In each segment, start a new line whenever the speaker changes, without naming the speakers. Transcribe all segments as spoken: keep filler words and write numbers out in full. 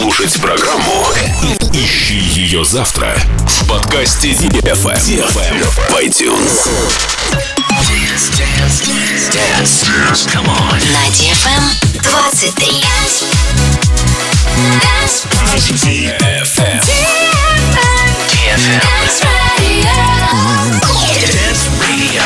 Слушать программу и ищи ее завтра в подкасте ди эф эм в iTunes.
Dance, dance, dance, dance, come on.
На ди эф эм двадцать три.
ди эф эм.
ди эф эм. Dance Radio.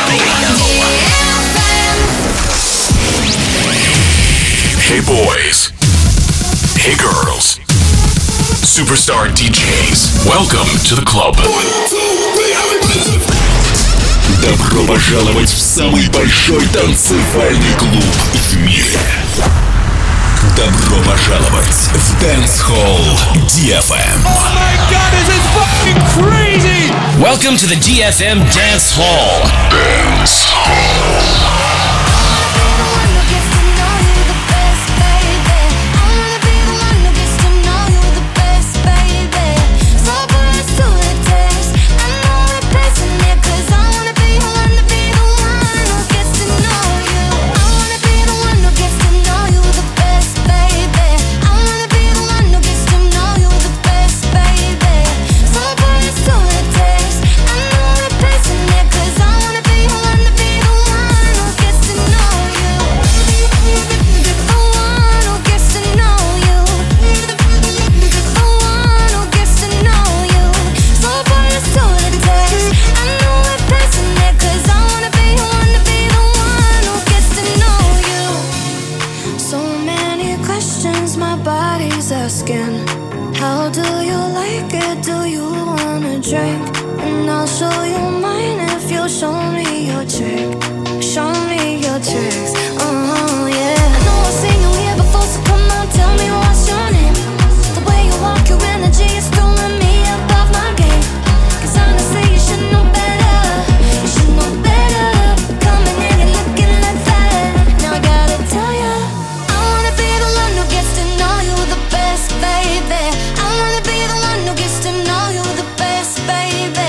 Hey boys. Hey girls. Superstar ди джейс. Welcome to the club. Добро пожаловать в самый большой танцевальный клуб в мире. Добро пожаловать в Dance Hall ди эф эм.
Oh my God, this is fucking crazy!
Welcome to the ди эф эм Dance Hall.
Dance Hall.
Baby,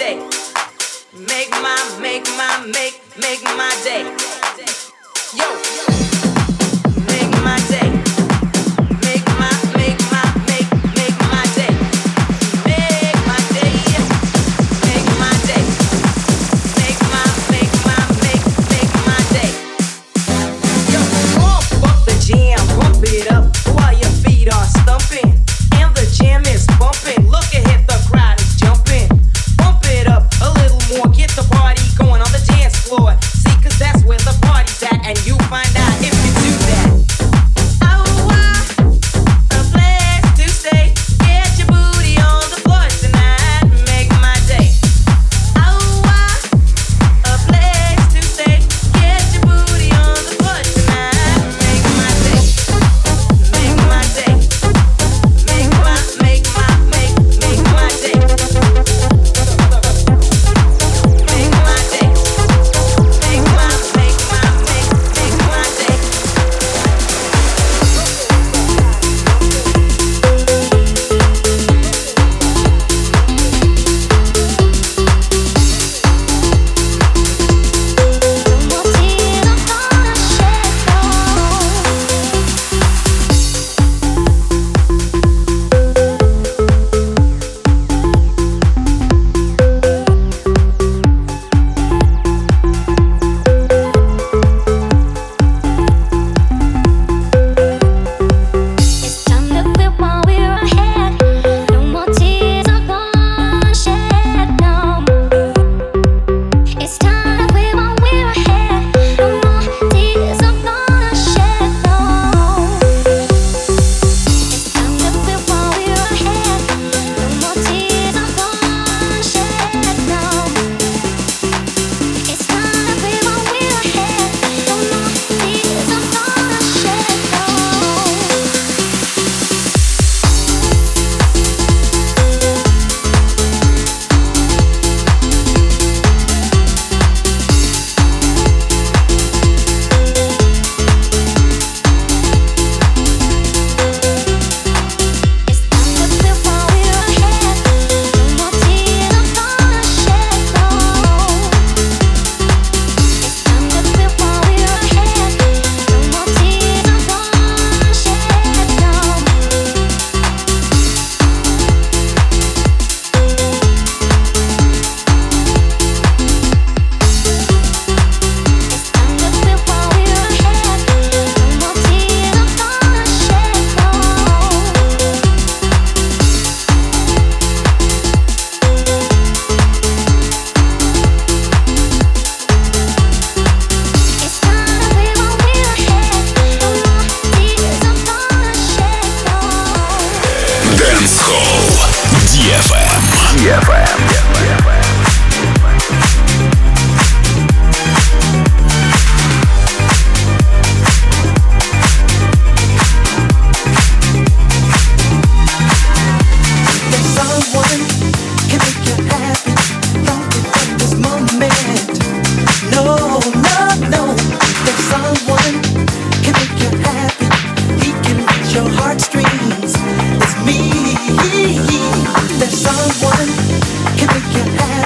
day. Make my, make my, make, make my day. Yo, make my day. Make my, make my, make, make my day. Make my day. Make my day. Make my, make my, make, make my day. Yo, pump up the jam, pump it up while your feet are stumping. And the jam is bumping. Look ahead, the crowd is jumping. Pump it up a little more, get the party going on the dance floor. See, cause that's where the party's at, and you find out if you do that. Oh, wow, a place to stay. Get your booty on the floor tonight. Make my day. Oh, wow, a place to stay. Get your booty on the floor tonight. Make my day. Make my day. Make my, make my, make, make my day. Make my day. Make my, make my, make, make my day.
It's time to quit while we're ahead. No more tears are gonna shed. No, it's time to quit while we're ahead. No more tears are gonna shed. No, it's time to quit while we're ahead. No more tears are gonna shed. No, it's time to quit while we're ahead. No more tears are gonna shed. No. It's time to quit while we're ahead. No more tears are gonna shed. No, it's time to quit while we're ahead. No more tears are gonna shed. No. It's time to quit while we're ahead. No more tears are gonna shed. No. It's time to quit while we're ahead. No more tears are gonna shed. No.
Dance Hall ди эф эм.
There's someone can make you happy. Don't give up this moment. No, no, no. There's someone can make you happy. He can reach your heartstrings. It's me. There's someone can make you happy.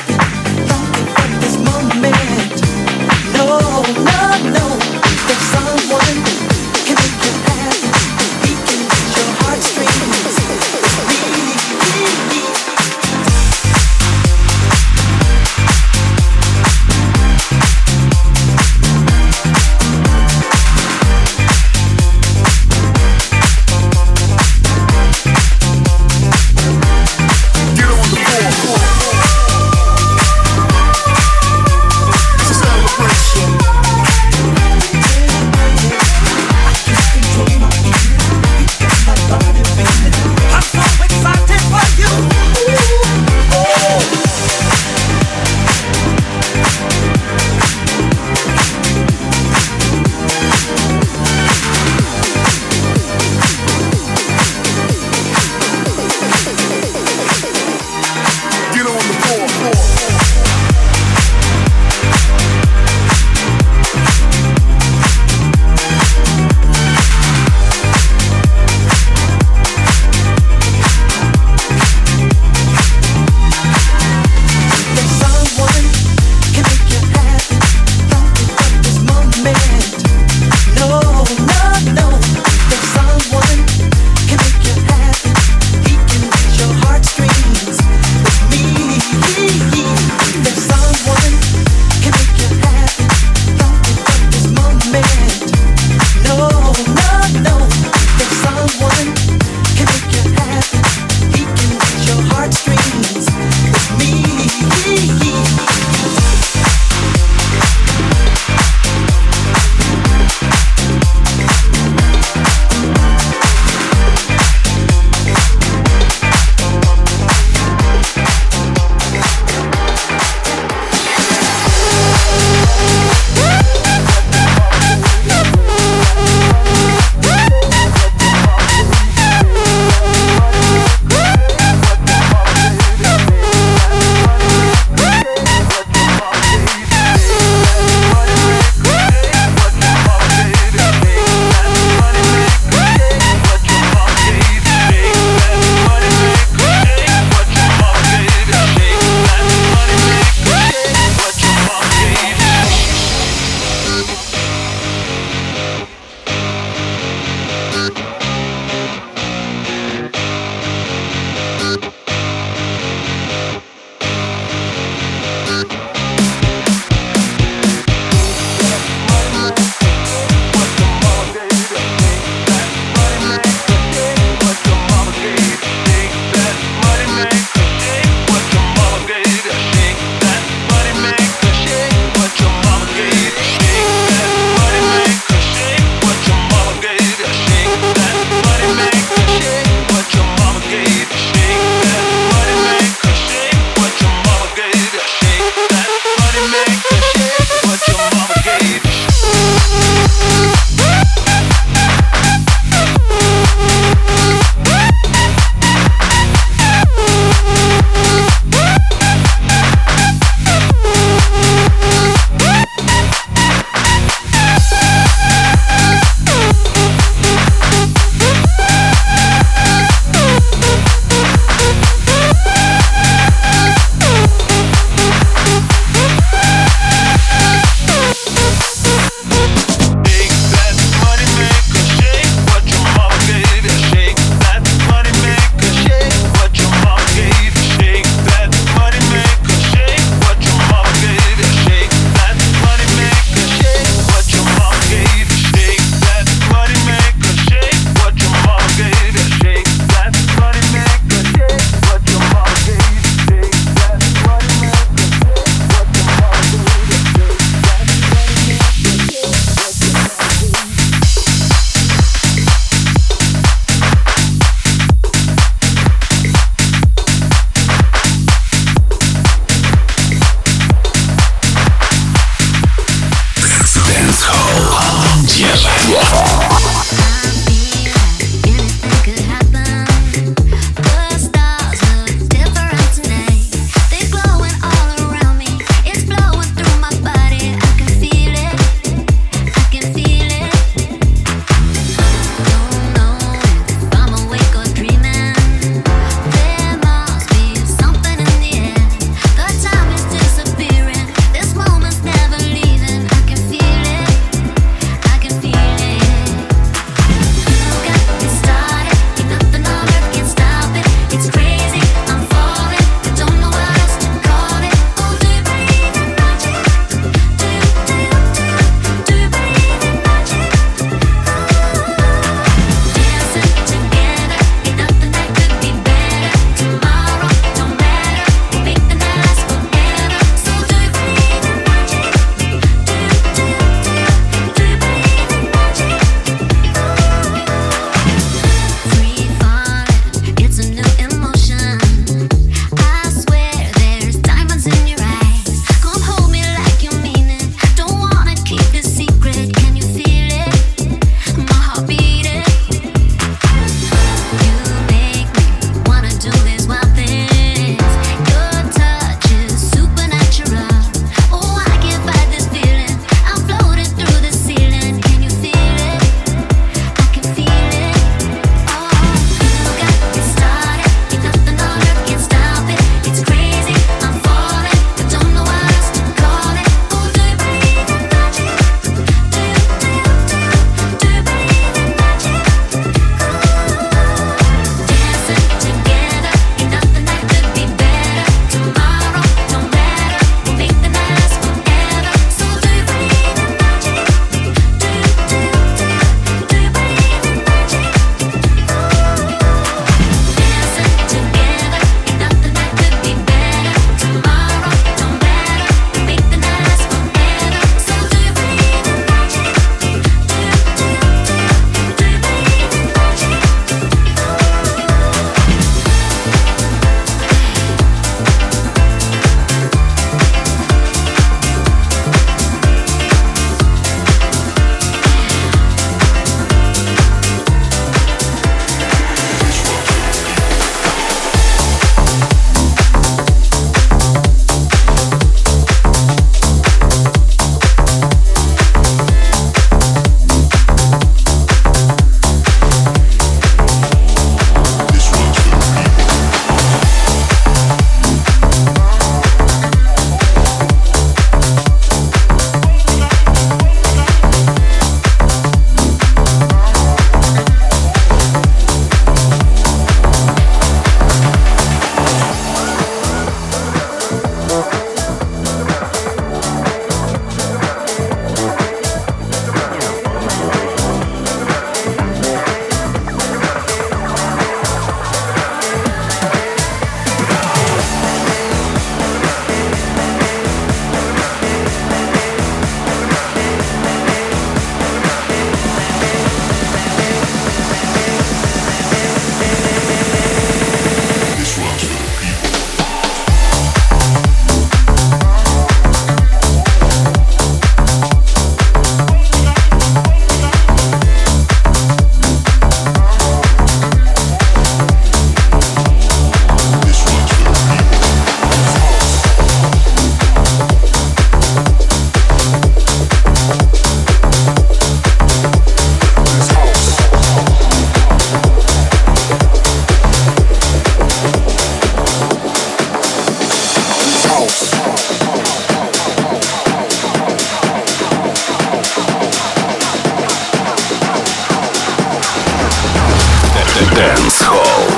Dance Hall.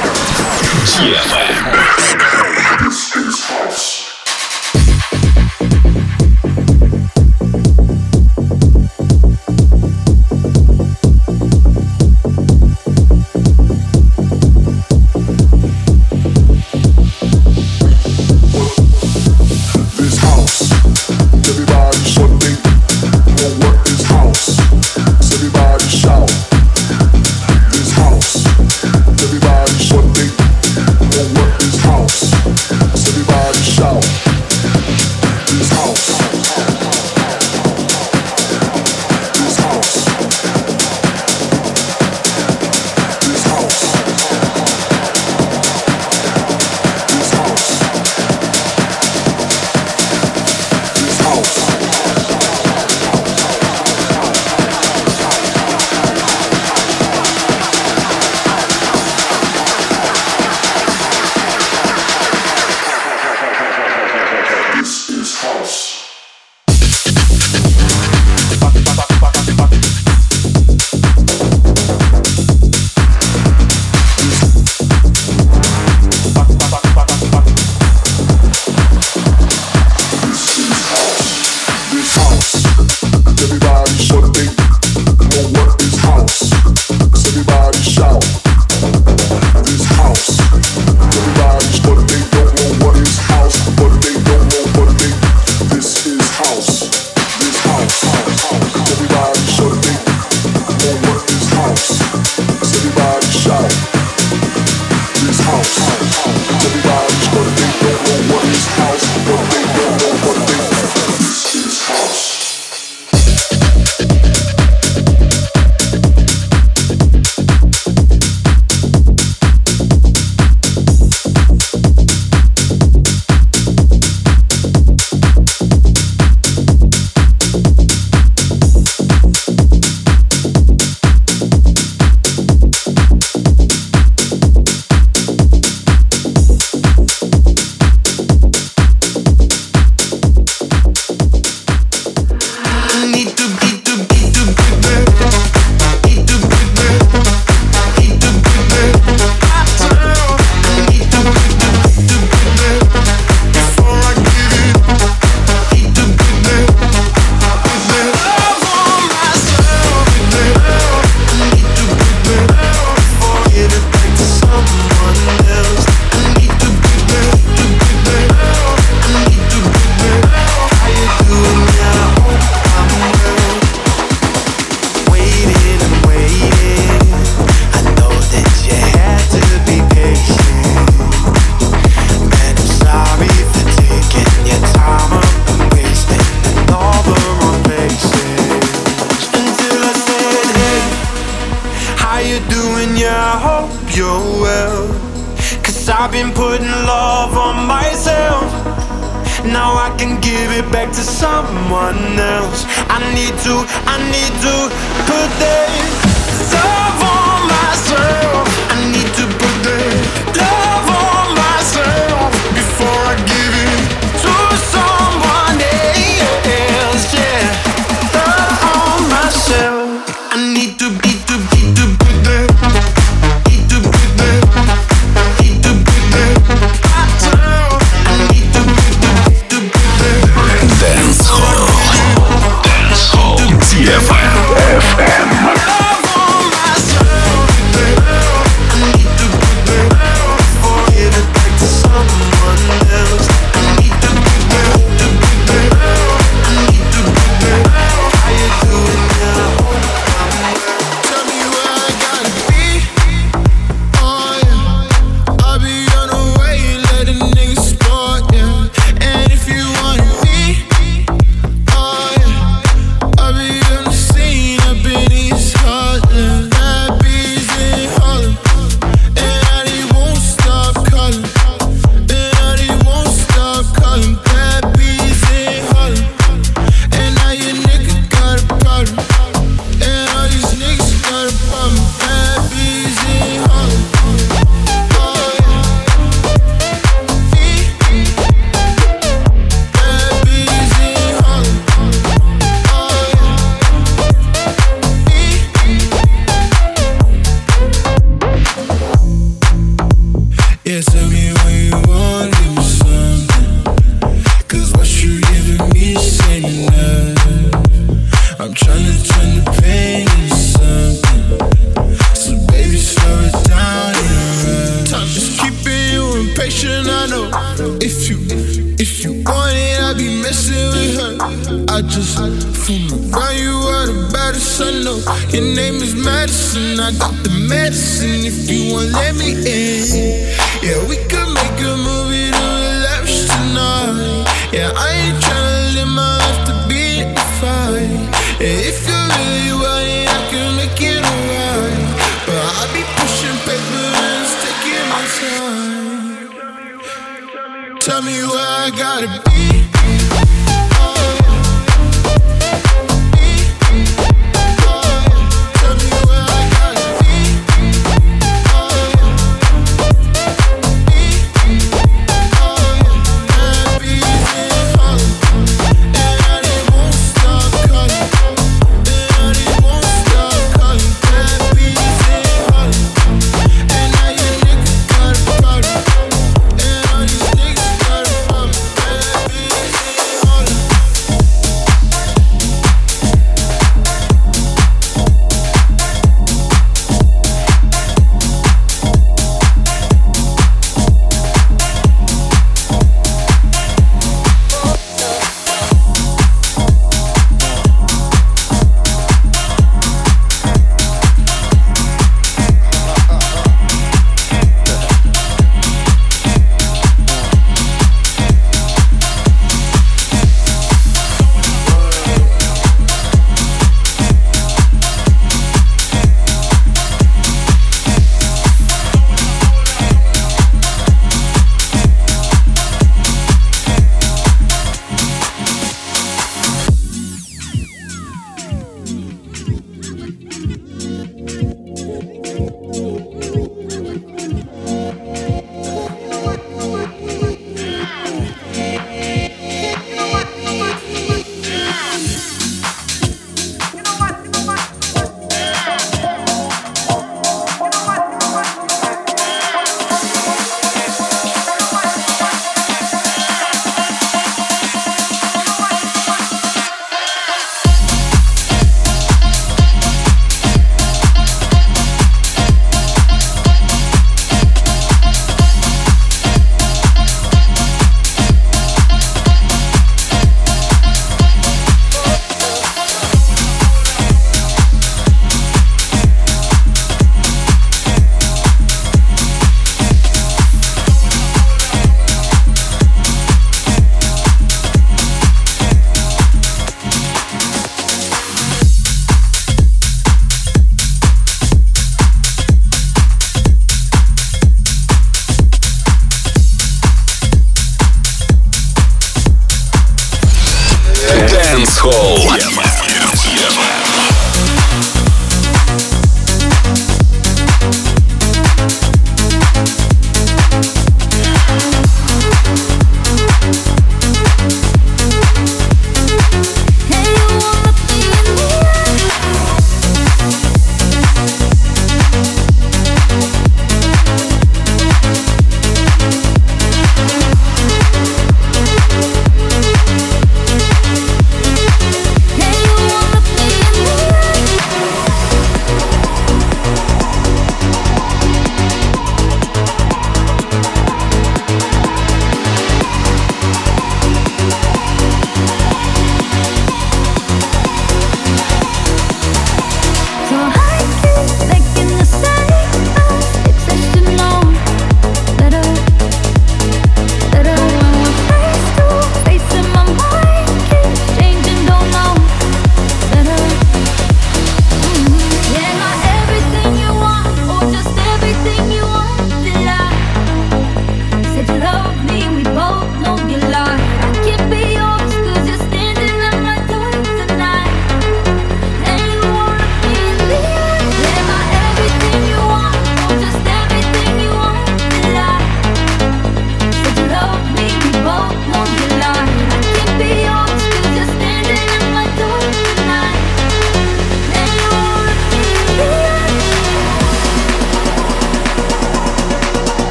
ди эф эм. ди эф эм.
situation, I know. If you, if you want it, I be messing with her. I just fool around, you are the baddest I know. Your name is Madison, I got the medicine. If you want, let me in. Yeah, we could make a movie to relax tonight. Yeah, I ain't tryna live my life to be in the fight. Yeah, if you really want it, I can make it alright. But I be pushing paper and it's taking my time. Tell me where I gotta be.
Baby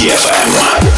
ди эф эм.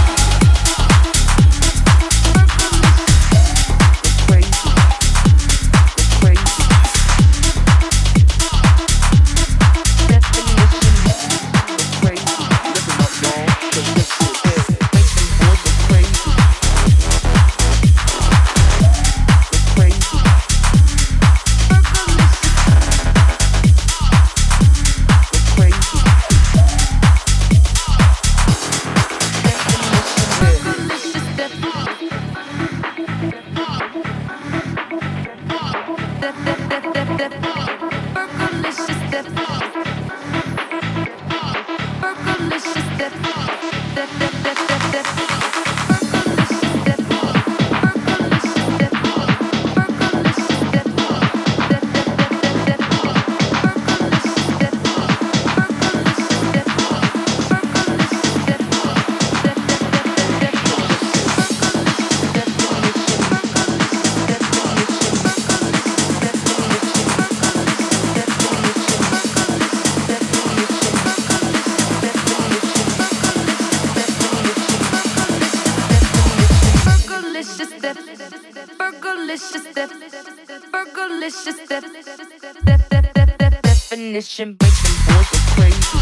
Definition, make them boys go crazy.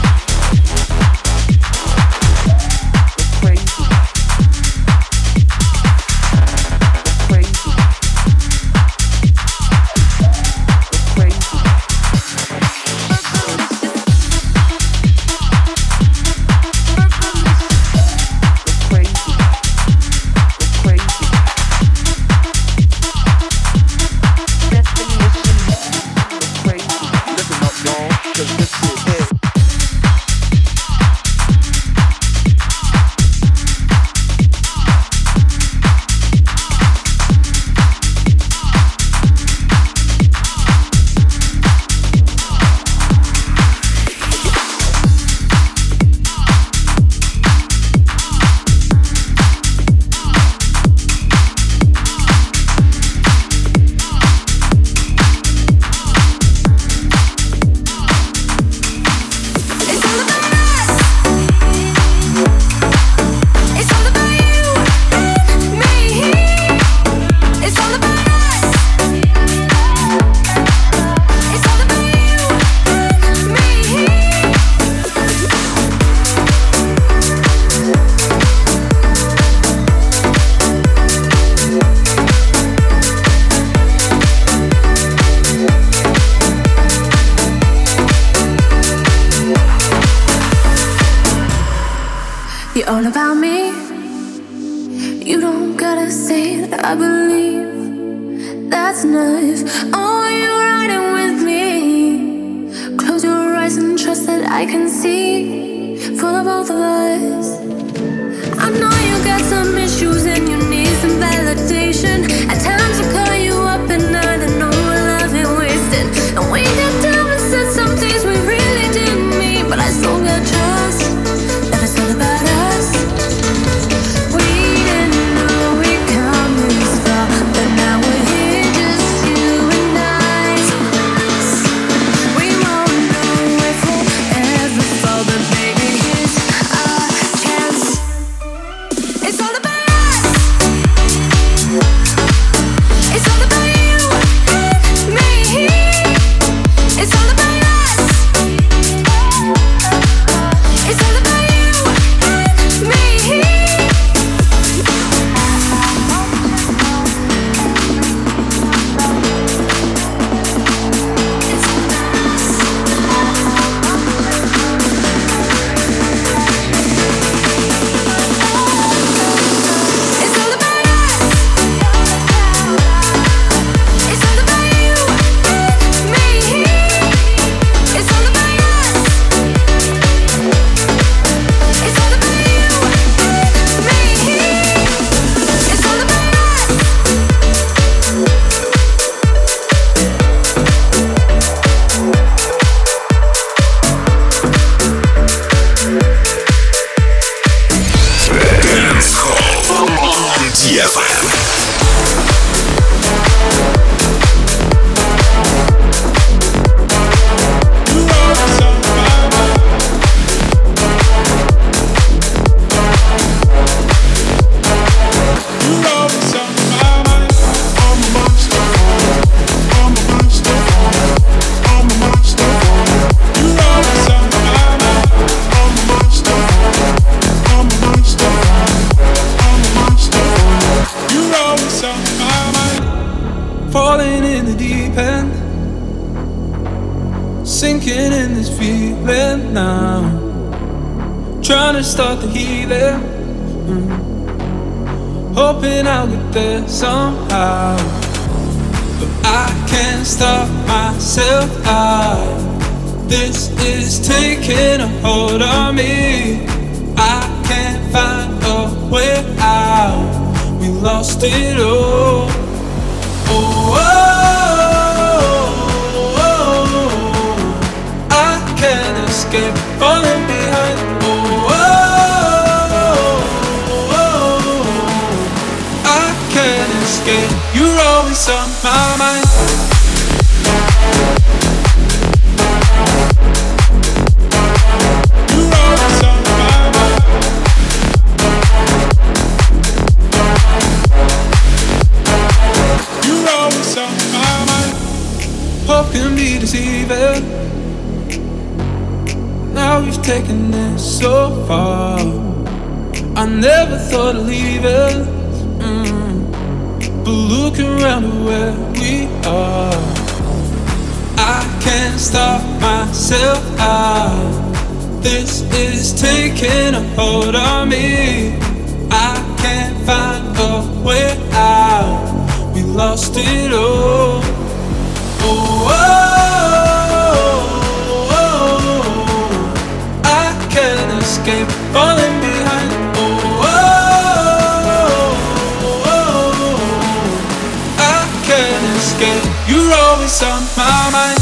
All about me. You don't gotta say that I believe. That's enough. Oh, you're riding with me. Close your eyes and trust that I can see for the both of us. I know you got some issues and you need some validation. At times I call you up at night and know our love ain't wasted. And we got down and said some things we really didn't mean, but I still got trust that it's all about us.
trying to start the healing. Mm. Hoping I'll get there somehow, but I can't stop myself. I, this is taking a hold on me. I can't find a way out. We lost it all. Oh, oh, oh, oh. I can't escape falling behind. Oh, oh, oh, oh. I can't escape. You're always on my mind. Hope can be deceiving. Now we've taken it so far. I never thought of leaving, mm. but look around at where we are. I can't stop myself out. This is taking a hold on me. I can't find a way out. We lost it all. Oh, oh, oh, oh, I can't escape falling behind. Oh, oh, oh, I can't escape. You're always on my mind.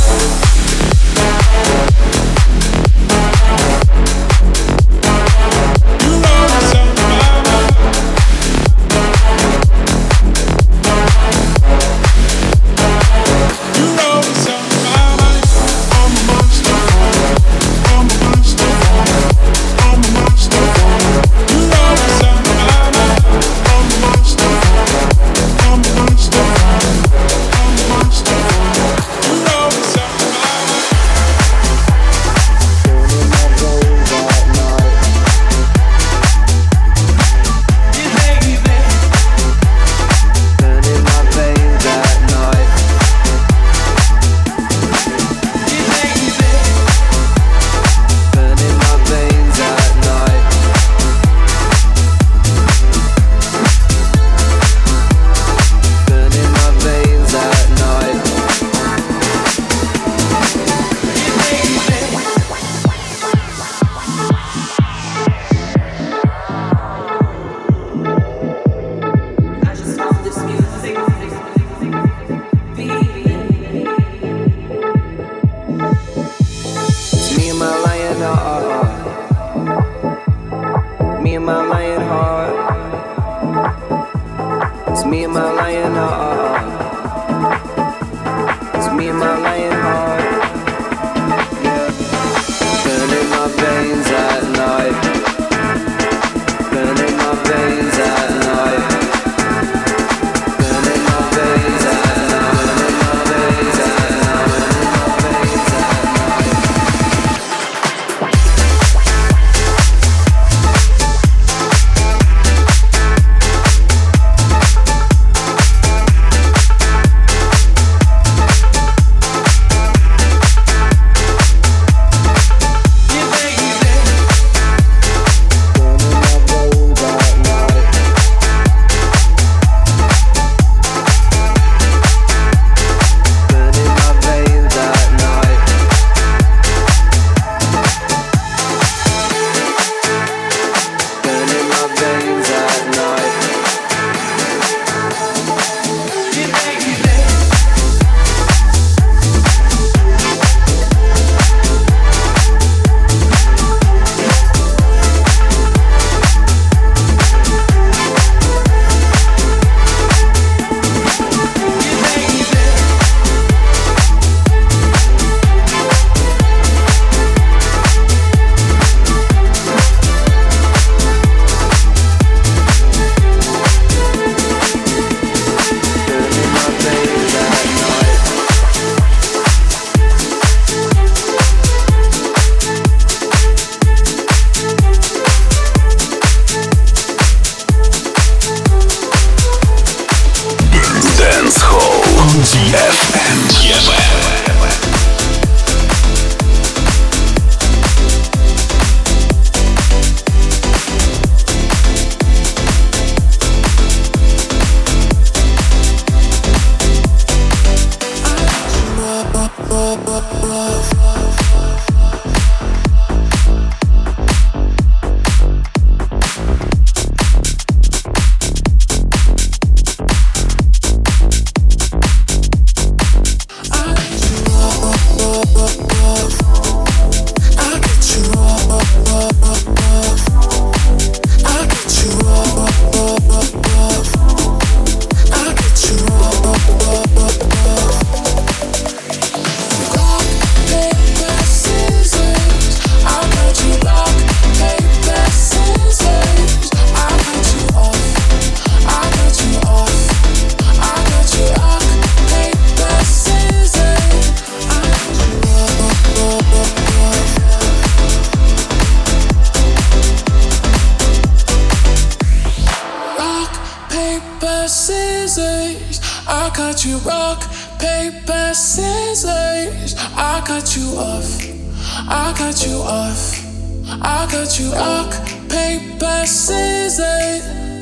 cut you rock, paper, scissors. I cut you off. I cut you off. I cut you rock, paper, scissors.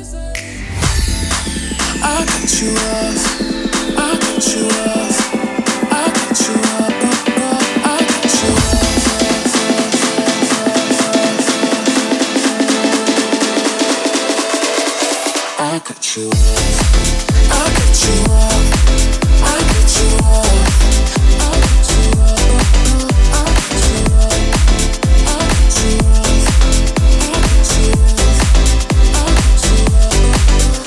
I cut you off. I cut you off. I cut you off. I cut you off. I cut you off. I cut you off. I cut you off. I cut you off. I cut you off. I cut you off. I cut you off. I cut you off.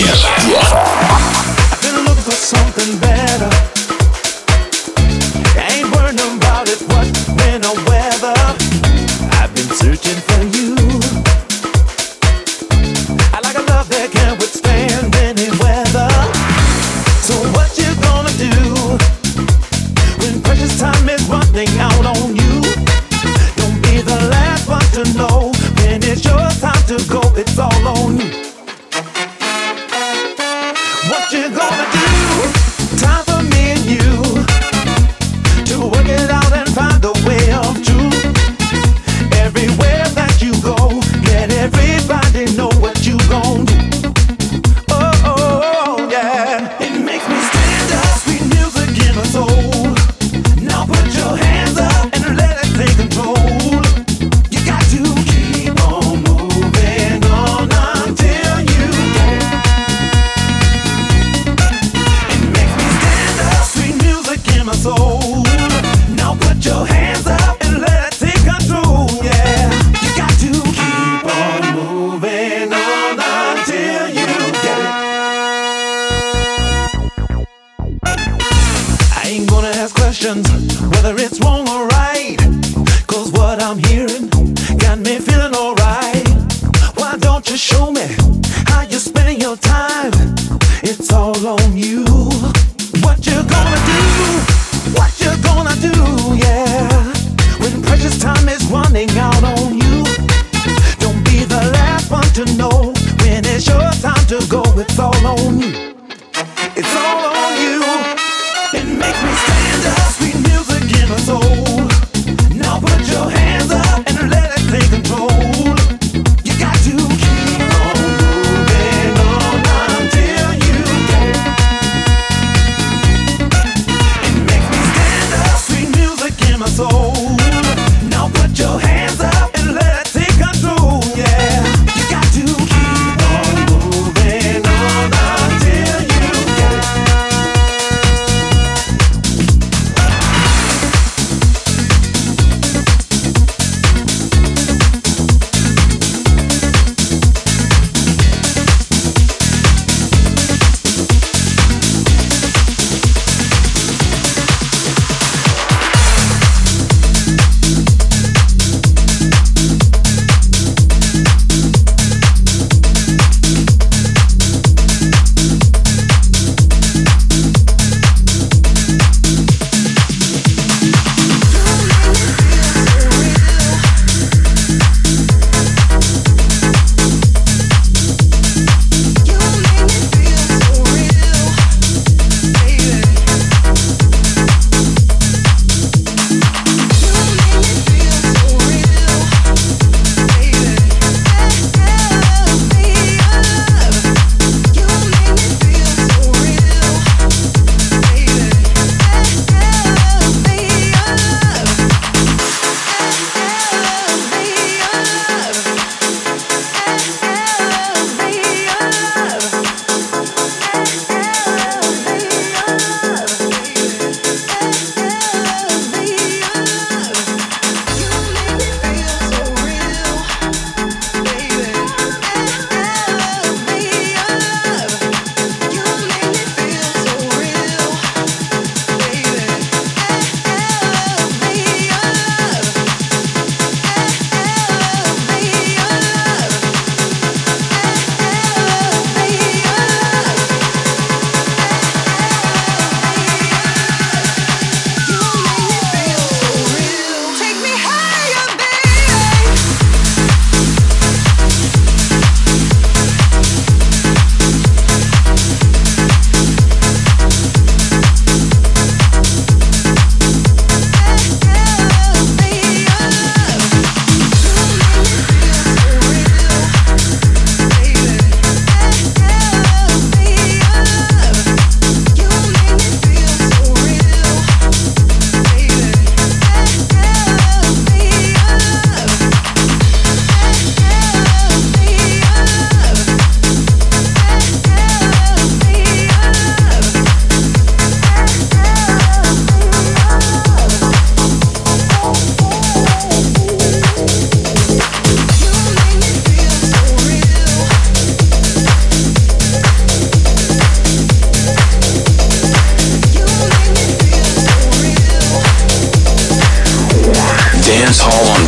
I've been looking for something better. Ain't worrying about it, what, when, or whether. I've been searching for you. I like a love that can withstand any weather. So what you gonna do when precious time is running out on you? Don't be the last one to know when it's your time to go. It's all on you. What you gonna do? Time for me and you to work it out and find a way of truth. Everywhere that you go, let everybody know what you gon' do. Oh, oh, oh, yeah. It makes me stand up, sweet music in my soul. Now put your hands up and let it take control. You got to keep on moving on until you get it. It makes me stand up, sweet music in my soul. Now put your hands up and let it take control, yeah. You got to keep on moving on until you get it. I ain't gonna ask questions whether it's wrong or right, 'cause what I'm hearing got me feeling alright. Why don't you show me how you're spending your time? It's all on you. What you gonna do? What you gonna do, yeah, when precious time is running out on you? Don't be the last one to know when it's your time to go. It's all on you. It's all on you. It makes me stand up, sweet music in my soul. Now put your hands up and let it take control. You got to keep on moving on until you get it. It makes me stand up, sweet music in my soul. Now put your hands up and let it take control, yeah. You got to keep on moving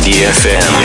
ди эф эм.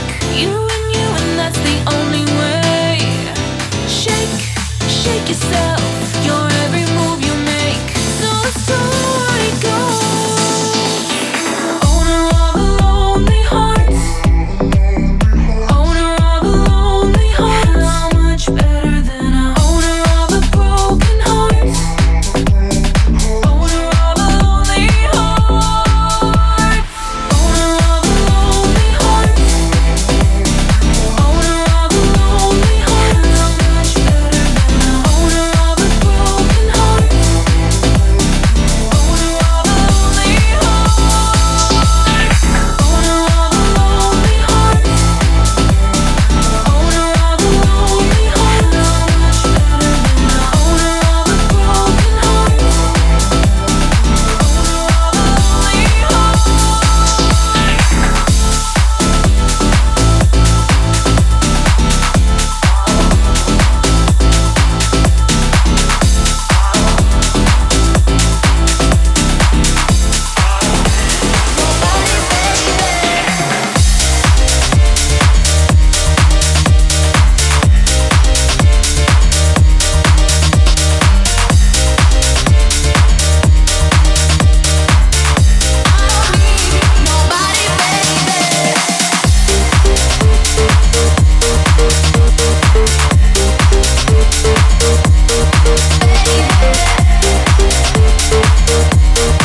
Yourself